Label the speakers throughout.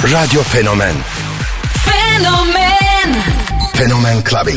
Speaker 1: Radyo Fenomen.
Speaker 2: Fenomen.
Speaker 1: Fenomen Clubbing.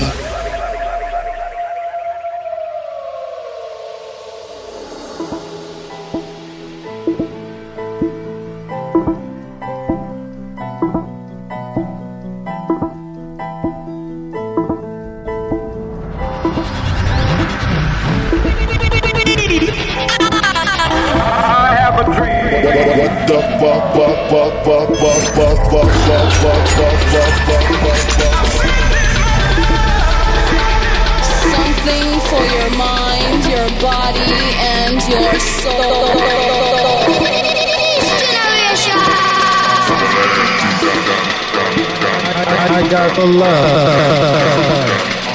Speaker 3: Something for your mind, your body, and your soul.
Speaker 4: I got the love.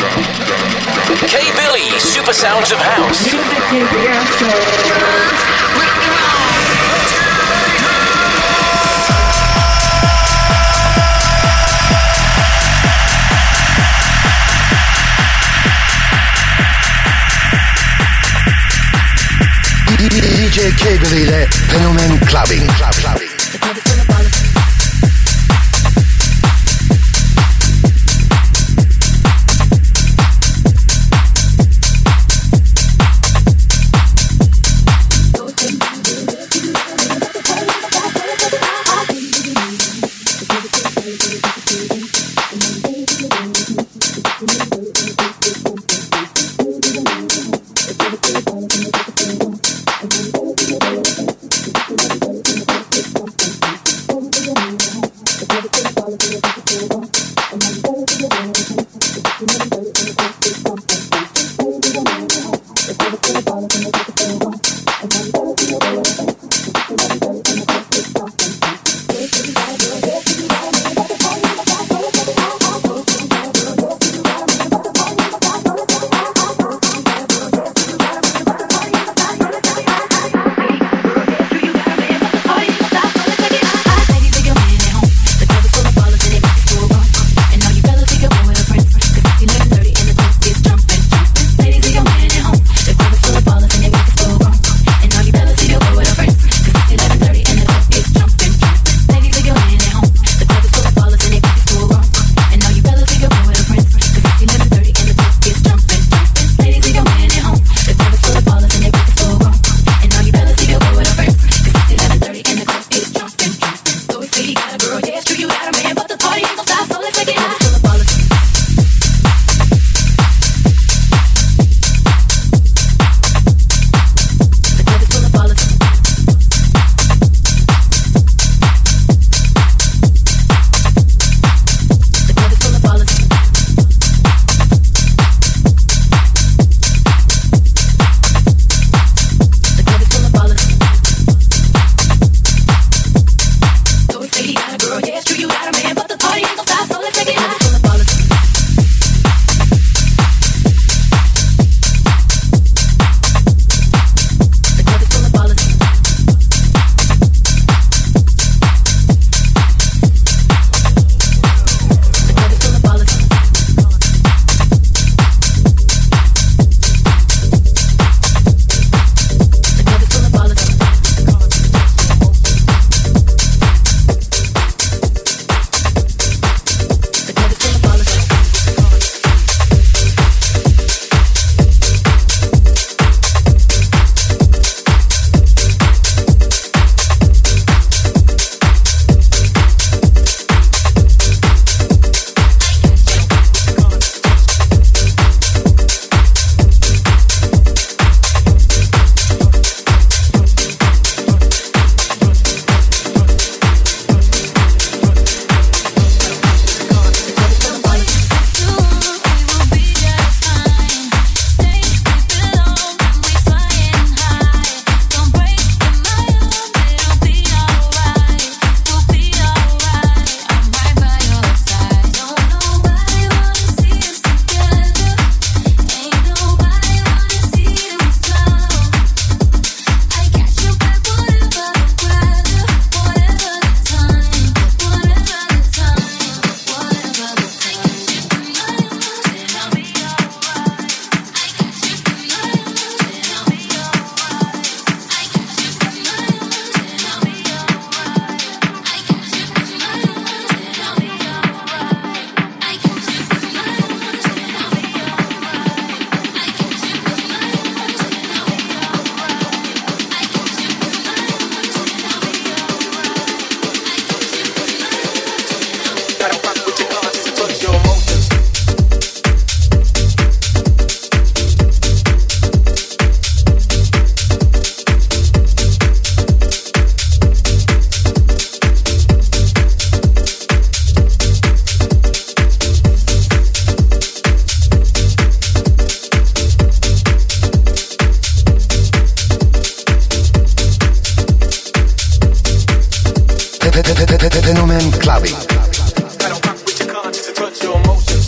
Speaker 5: K Billy, Super Sounds of House.
Speaker 1: DJ K Billy ile Fenomen Clubbing. Fenomen Clubbing.
Speaker 2: Gotta rock with your conscience and touch your emotions.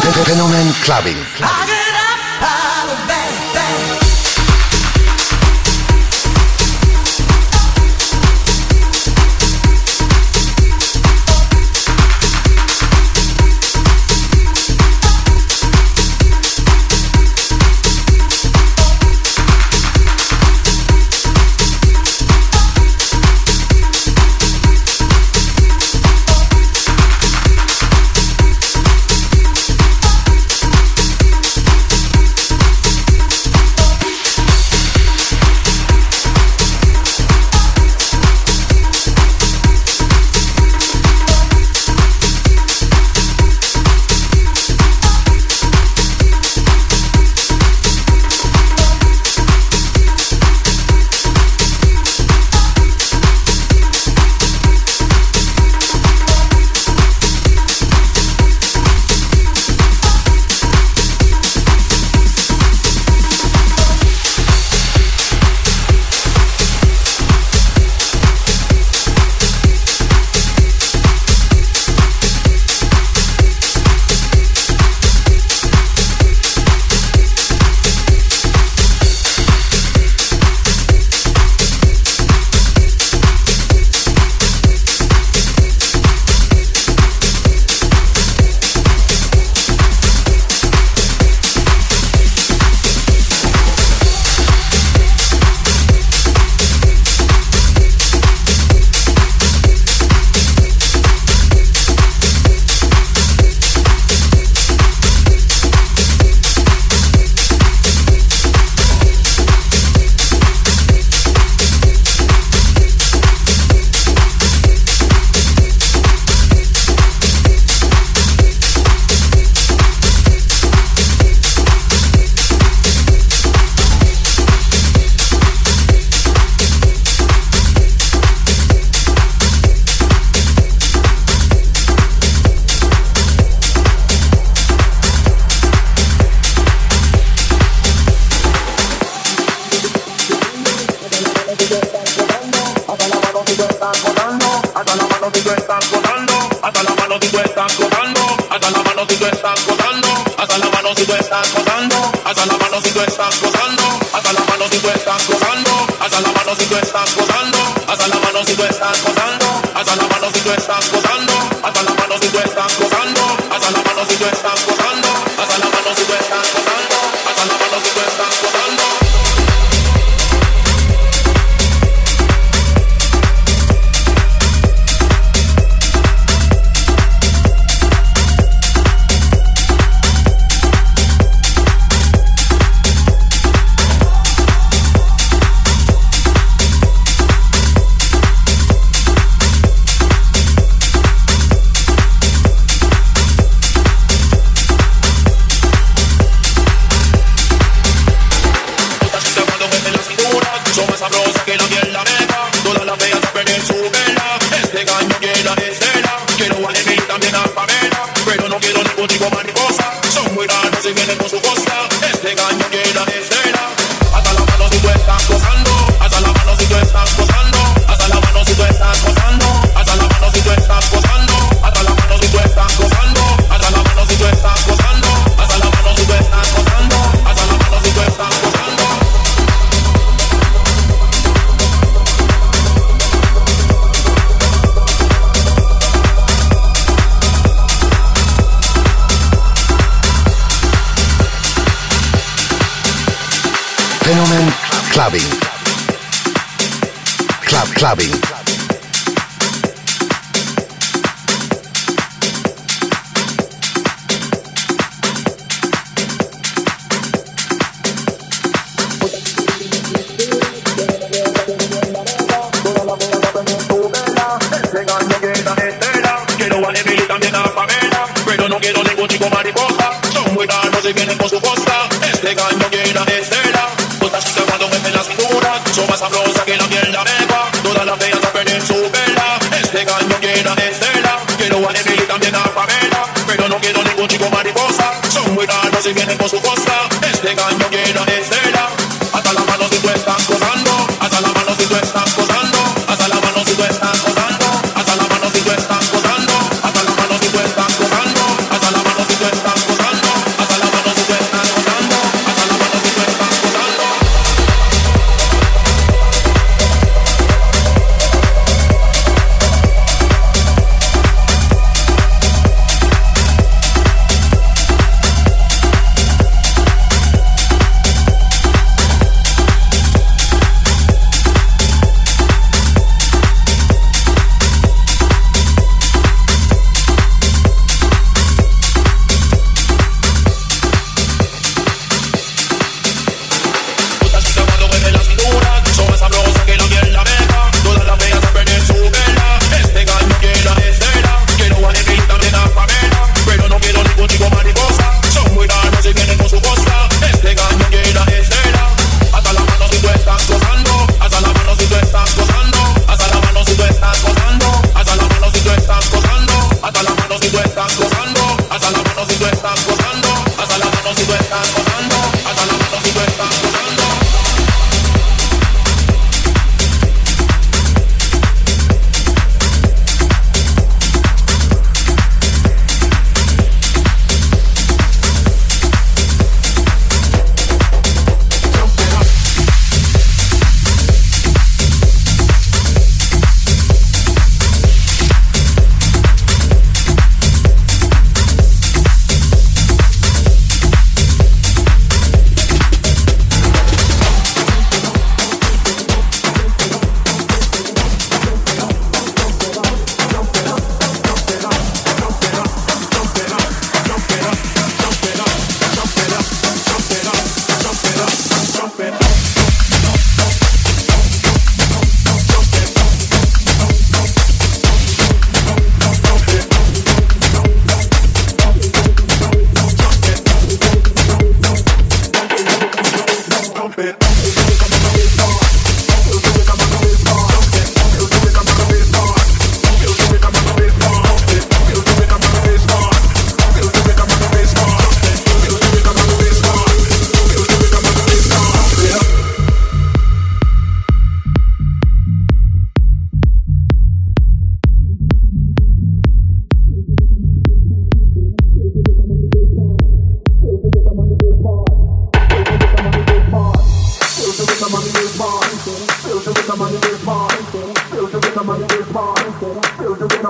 Speaker 1: Fenomen Clubbing. Fenomen Clubbing. Clubbing.
Speaker 6: Si vienen con su cosa, este gallo llena de cera. Hasta la mano si tú estás gozando, hasta la mano si tú estás gozando, hasta la mano si tú estás gozando, hasta la mano si tú estás gozando, hasta la mano si tú estás gozando, hasta la mano si tú estás gozando.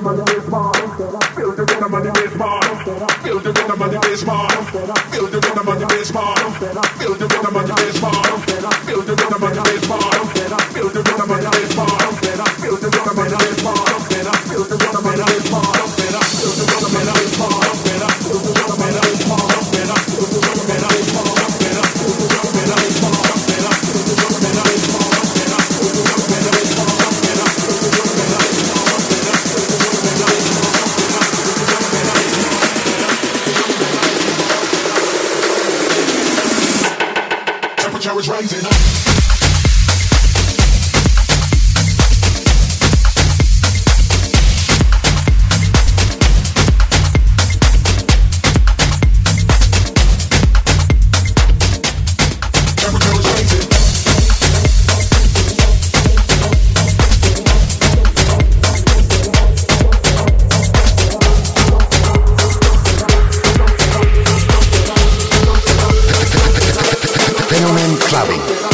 Speaker 1: Fenomen Clubbing.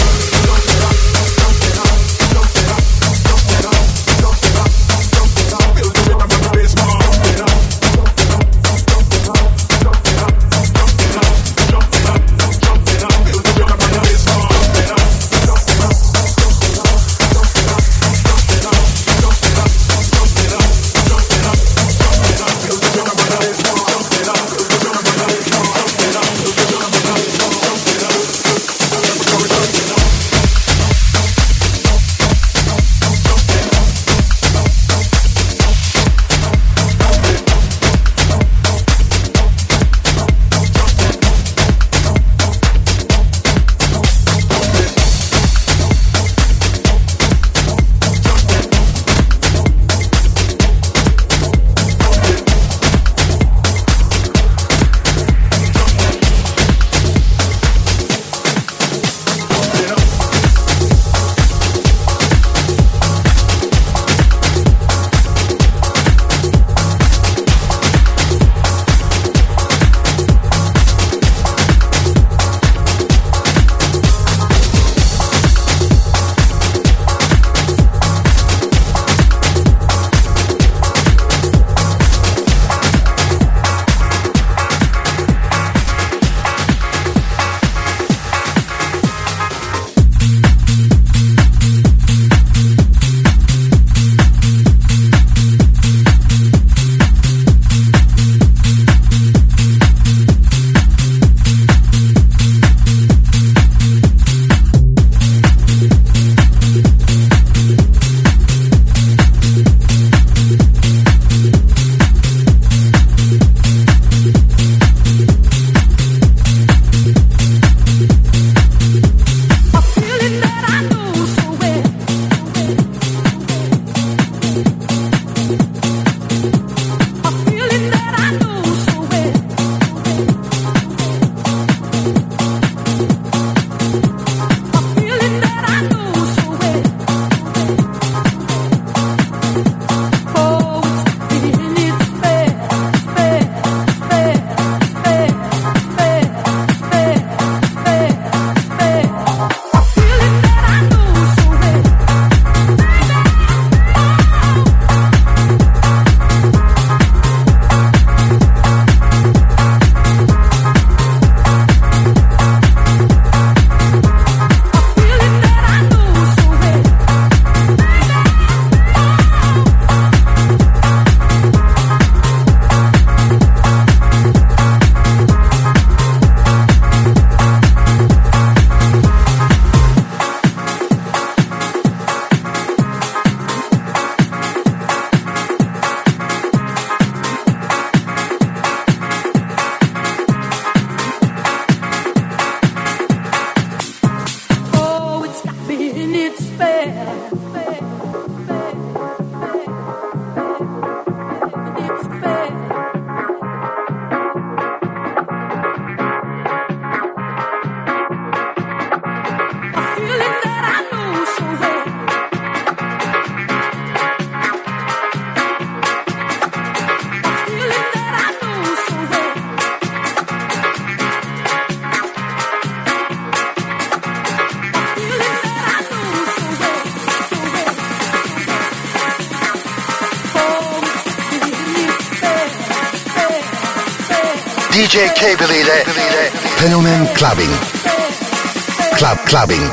Speaker 1: DJ Cable ile Fenomen Clubbing. Clubbing.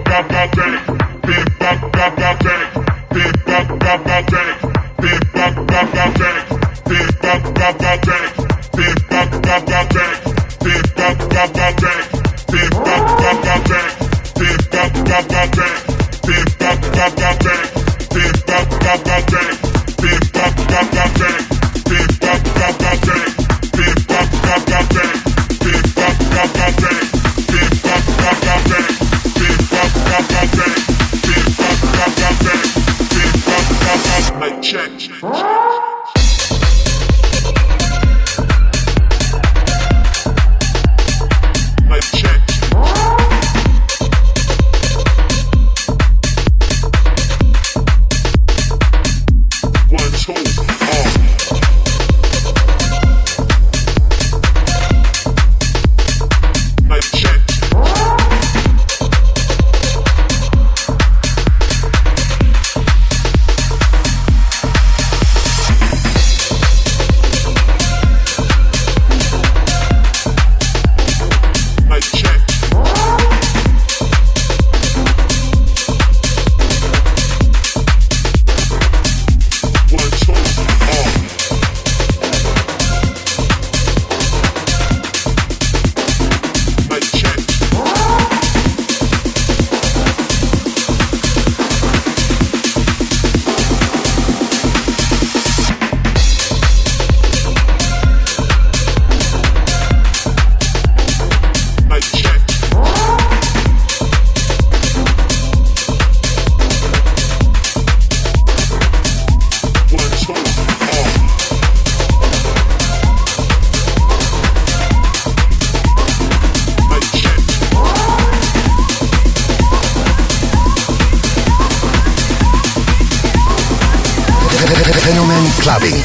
Speaker 1: Fenomen Clubbing.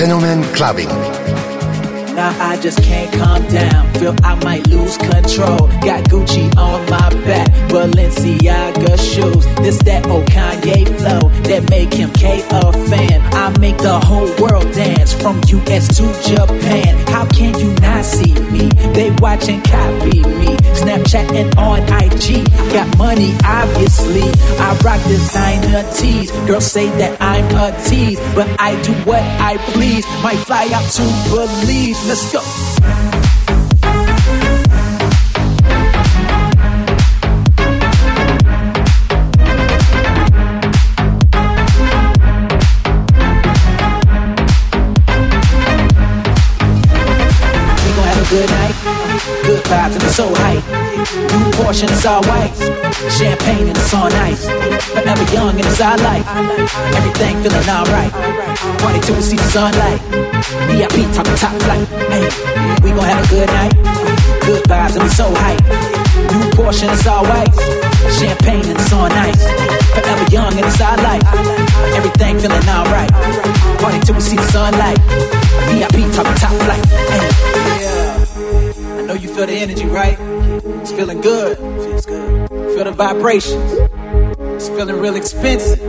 Speaker 1: Fenomen Clubbing.
Speaker 7: Now I just can't calm down. Feel I might lose control. Got Gucci on my back, Balenciaga shoes. This that old Kanye flow that make him K a fan. I make the whole world dance from US to Japan. How can you not see me? They watch and copy me. Snapchatting on IG. Got money, obviously. I rock designer tees. Girls say that I'm a tease, but I do what I please. Might fly out to Belize. Let's go. Good night, good vibes and it's so hype. New portion, it's all white. Champagne and it's on ice. Forever young and it's our life. Everything feeling alright. Party till we see the sunlight. VIP talking top flight. Hey, we gon' have a good night. Good vibes and it's so hype. New portion, it's all white. Champagne and it's on ice. Forever young and it's our life. Everything feeling alright. Party till we see the sunlight. VIP talking top flight. Hey, yeah. I know you feel the energy, right? It's feeling good. Feels good. Feel the vibrations. It's feeling real expensive.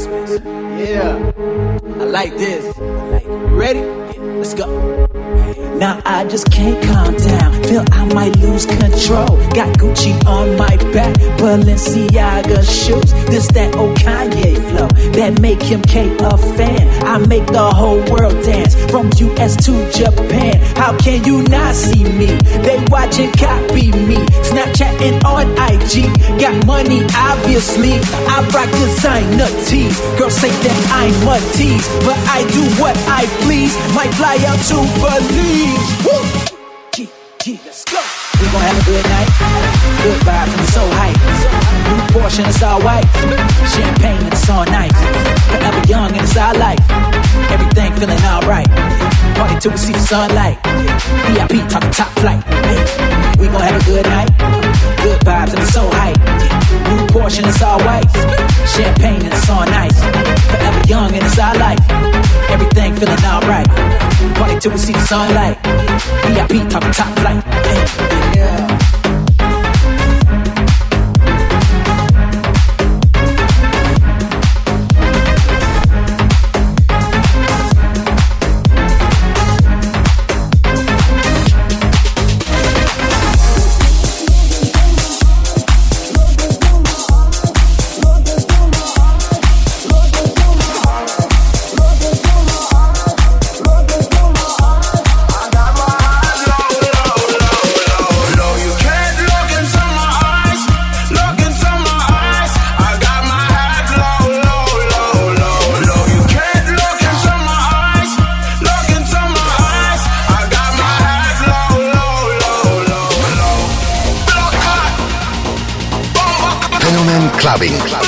Speaker 7: Yeah. I like this. You ready? Let's go. Now I just can't calm down. Feel I might lose control. Got Gucci on my back, Balenciaga shoes. This that old Kanye flow that make him K a fan. I make the whole world dance from US to Japan. How can you not see me? They watch and copy me. Snapchatting on IG. Got money, obviously. I rock designer tees. Girls say that I'm a tease, but I do what I please. Might fly out to Belize. Woo! Let's go. We gon' have a good night. Good vibes and it's so hype. New portion, it's all white. Champagne and it's on ice. Forever young and it's our life. Everything feeling alright. Party till we see the sunlight. VIP talking top flight. Hey, we gon' have a good night. Good vibes and it's so hype. New portion, it's all white. Champagne and it's on ice. Forever young and it's our life. Everything feeling alright. Party till we see the sunlight. VIP talking top flight. Hey, yeah.
Speaker 1: Clubbing. Club.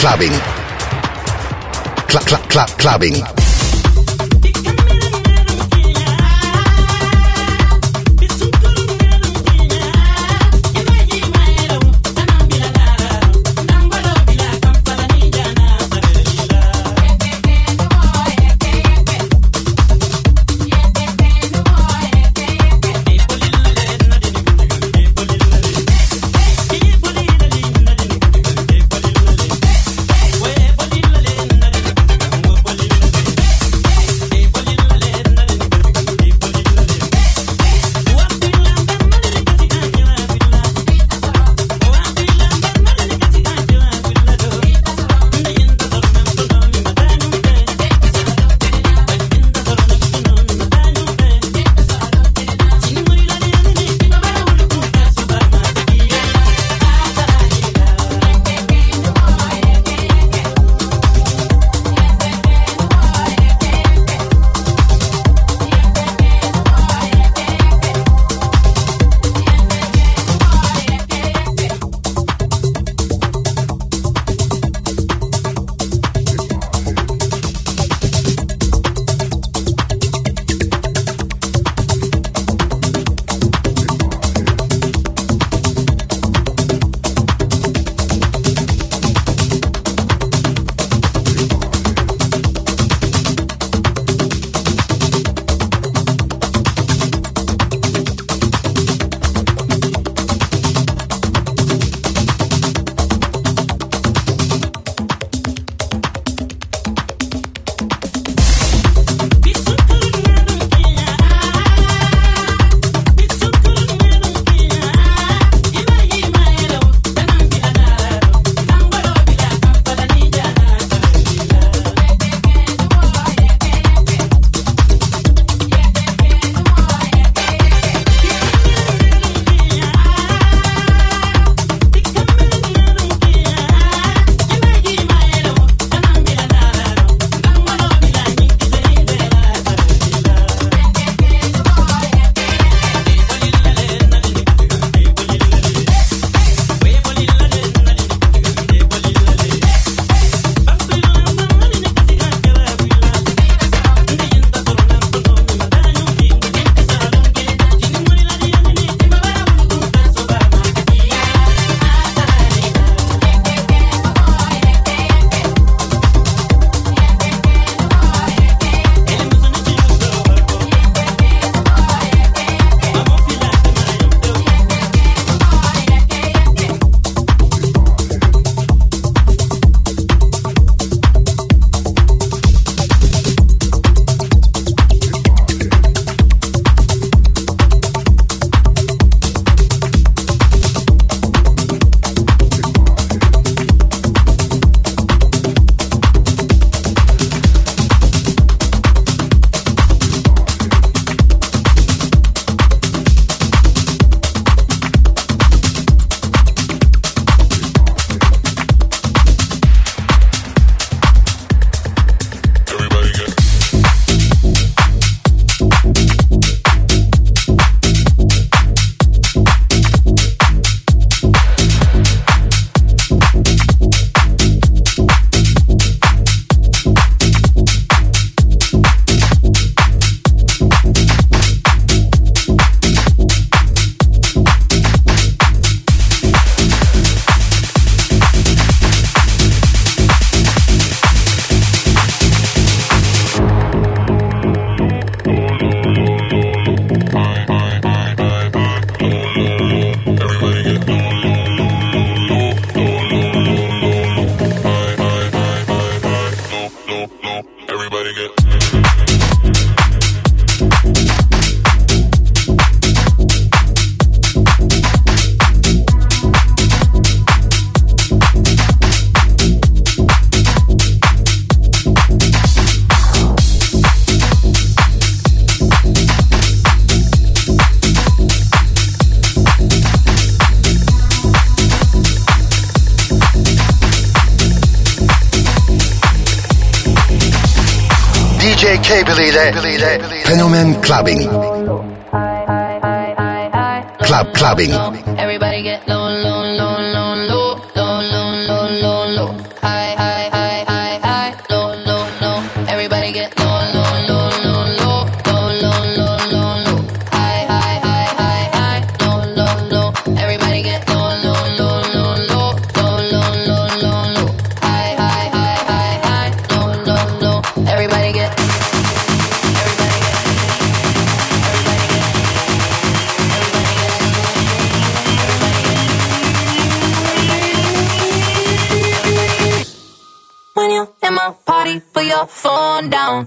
Speaker 1: clubbing. Clubbing. DJ Cable ile Fenomen Clubbing. Clubbing.
Speaker 3: Everybody get low, low, low, low, low, low, low, low, low, low. High,
Speaker 8: in my party, put your phone down.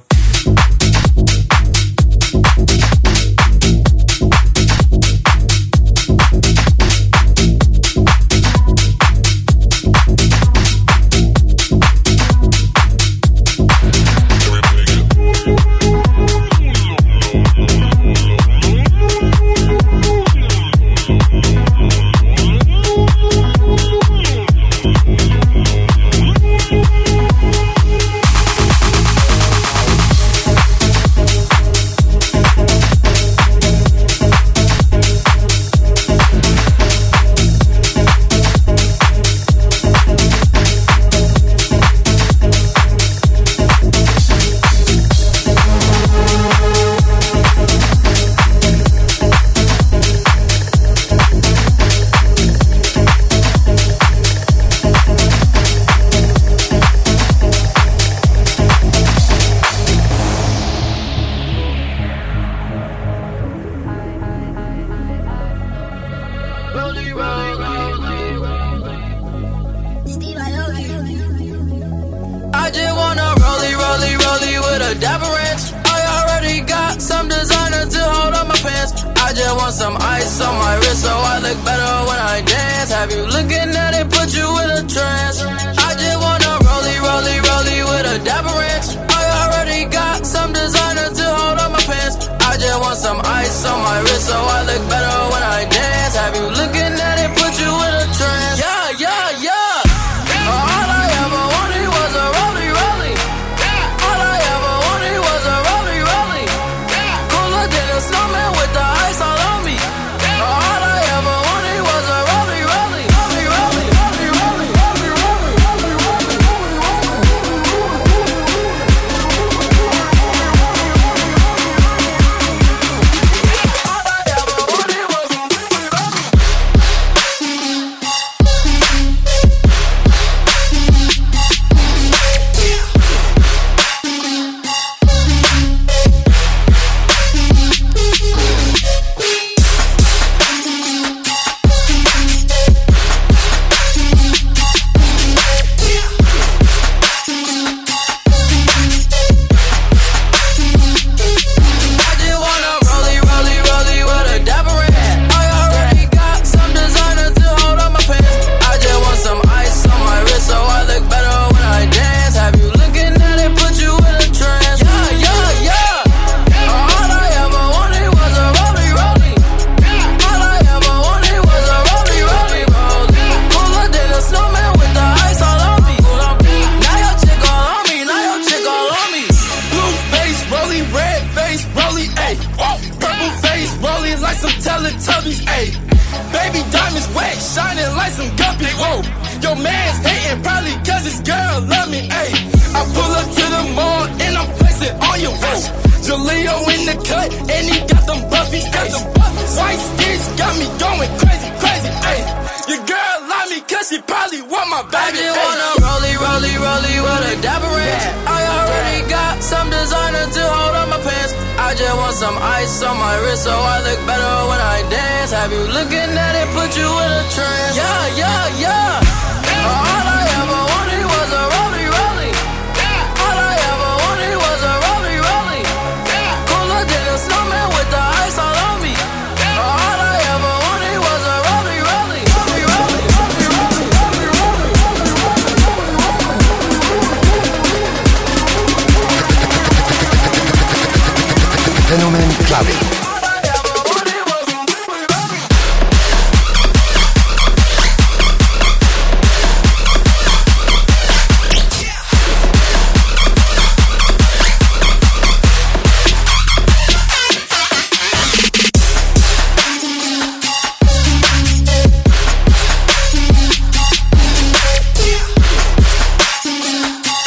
Speaker 9: I just wanna rollie with a dapper ranch. I already got some designer to hold up my pants. I just want some ice on my wrist so I look better when I dance. Have you looking at it, put you in a trance. I just wanna rollie with a dapper ranch. I already got some designer to hold up my pants. I just want some ice on my wrist so I look better when I dance. Have you looking at it, put you in a trance. Yeah. All I ever wanted was a rollie. All I ever wanted was a rollie. Cooler than a snowman with the ice all on me. All I ever wanted was a rollie. Teletubbies, ayy. Baby diamonds wet, shining like some guppies, whoa. Your man's hating probably cause his girl love me, ayy. I pull up to the mall and I'm flexing on your whoa. Jaleo in the cut and he got them buffies, ayy. White sticks got me going crazy, ayy. Your girl love me cause she probably want my baby, ayy. I just wanna rollie with a dapper ranch. I already got some designer to hold on my pants. I just want some ice on my wrist so I look better when I dance. Have you looking at it, put you in a trance. Yeah. All I ever wanted was a rollie. All I ever wanted was a rollie. Cooler than a snowman with the ice all on me. All I ever wanted was a rollie.
Speaker 1: Fenomen Clubbing.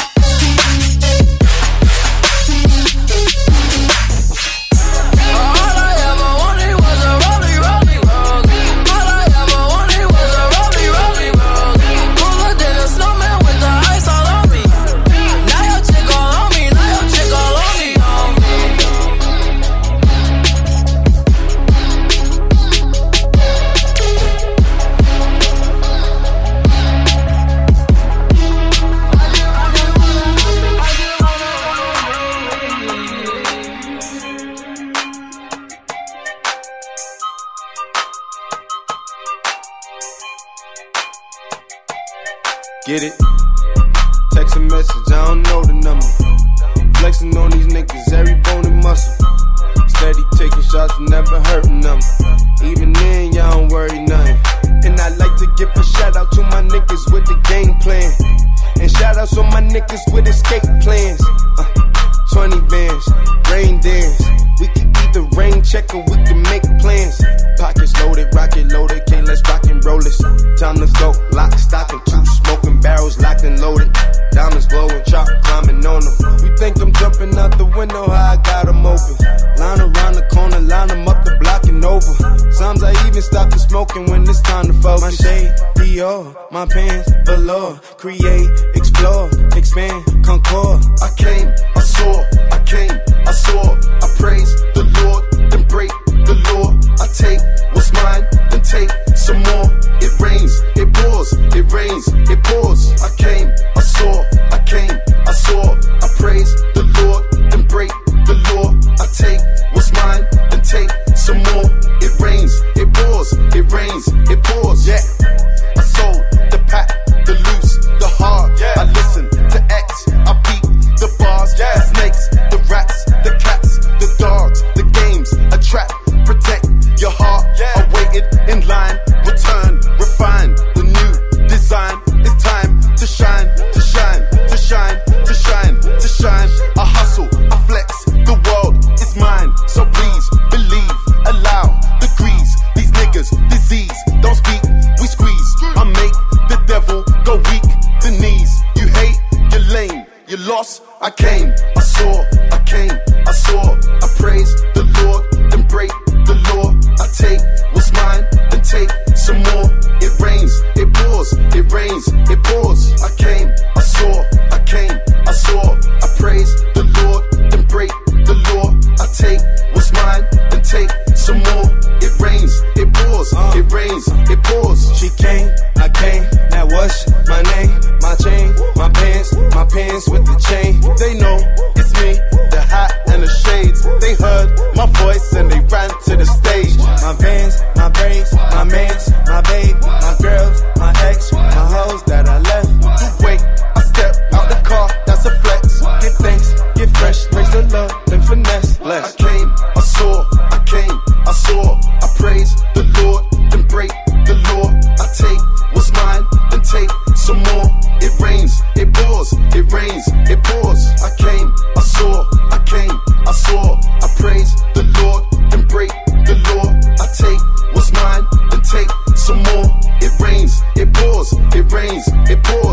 Speaker 9: All
Speaker 10: Get it? Text a message, I don't know the number. Flexing on these niggas, every bone and muscle. Steady taking shots, never hurting them. Even then, y'all don't worry nothing. And I like to give a shout out to my niggas with the game plan. And shout outs on my niggas with escape plans. 20 bands, rain dance. We can either rain check or we can make plans. Pockets loaded, rocket loaded, okay, let's rock and roll this. Time to go, lock, stock, and two smoking barrels locked and loaded. Diamonds glowing, chop climbing on them. You think I'm jumping out the window, how I got them open. Line around the corner, line them up the block and over. Sometimes I even stop the smoking when it's time to focus. My shade, Dior, my pants, velour. Create, explore, expand, concord.
Speaker 11: I came, I saw, I came, I saw. I praise the Lord, then break the law. I take what's mine, then take some more. It rains, it pours, it rains, it pours. I came, I saw, I came, I saw. I praise the Lord, then break the law. I take what's mine, then take some more. It rains, it pours, it rains, it pours. Yeah, I sold the pack, the loose, the hard. Yeah, I listen to X, I beat the bars. Yeah, the snakes, the rats, the cats, the dogs, the games, a trap, protect your heart. Yeah, I waited in line, return, refine the new design. It's time to shine, to shine, to shine, to shine, to shine. I hustle, I flex, the world is mine. So please believe, allow degrees. These niggas, disease, don't speak, we squeeze. I make the devil go weak, the knees. You hate, you're lame, you lost. I came, I saw, I came, I saw. I praise the Lord, then break the law. I take what's mine, then take some more. It rains, it pours, it rains, it pours. I came, I saw, I came, I saw. I praise the Lord, then break the law. I take what's mine, then take some more. It rains, it pours, it rains, it pours.
Speaker 10: She came, I came, now what's my name? My chain, my pants with the chain. They know it's me, the hat and the shades. They heard my voice and they ran to the stage. My vans, my braids, my mans, my babe, my girls, my ex, my hoes that I left. You wait, I step out the car, that's a flex. Give thanks, get fresh, praise the Lord, then finesse. Less.
Speaker 11: I came, I saw, I came, I saw. I praise the Lord, then break the law. I take what's mine, then take some more. It rains, it pours, it rains, it pours. I came, I saw, I came, I saw. I praise the Lord, then break the law. I take what's mine, then take some more. It rains, it pours, it rains, it pours.